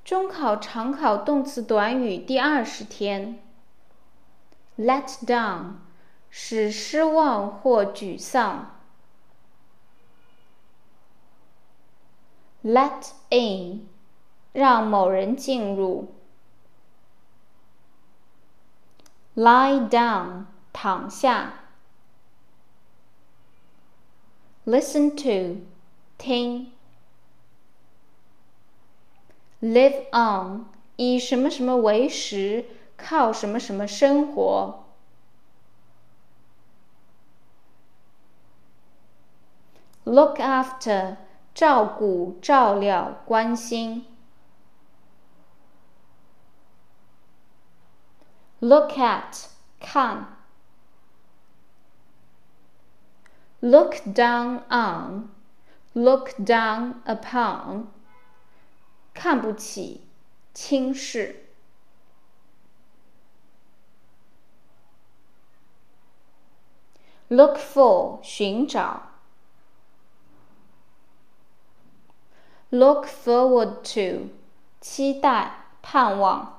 中考常考动词短语第20天。Let down， 使失望或沮丧。Let in， 让某人进入。Lie down， 躺下。Listen to， 听。Live on， 以什么什么为食，靠什么什么生活。Look after， 照顾、照料、关心。Look at， 看。Look down on， look down upon， 看不起、轻视。Look for， 寻找。Look forward to， 期待、盼望。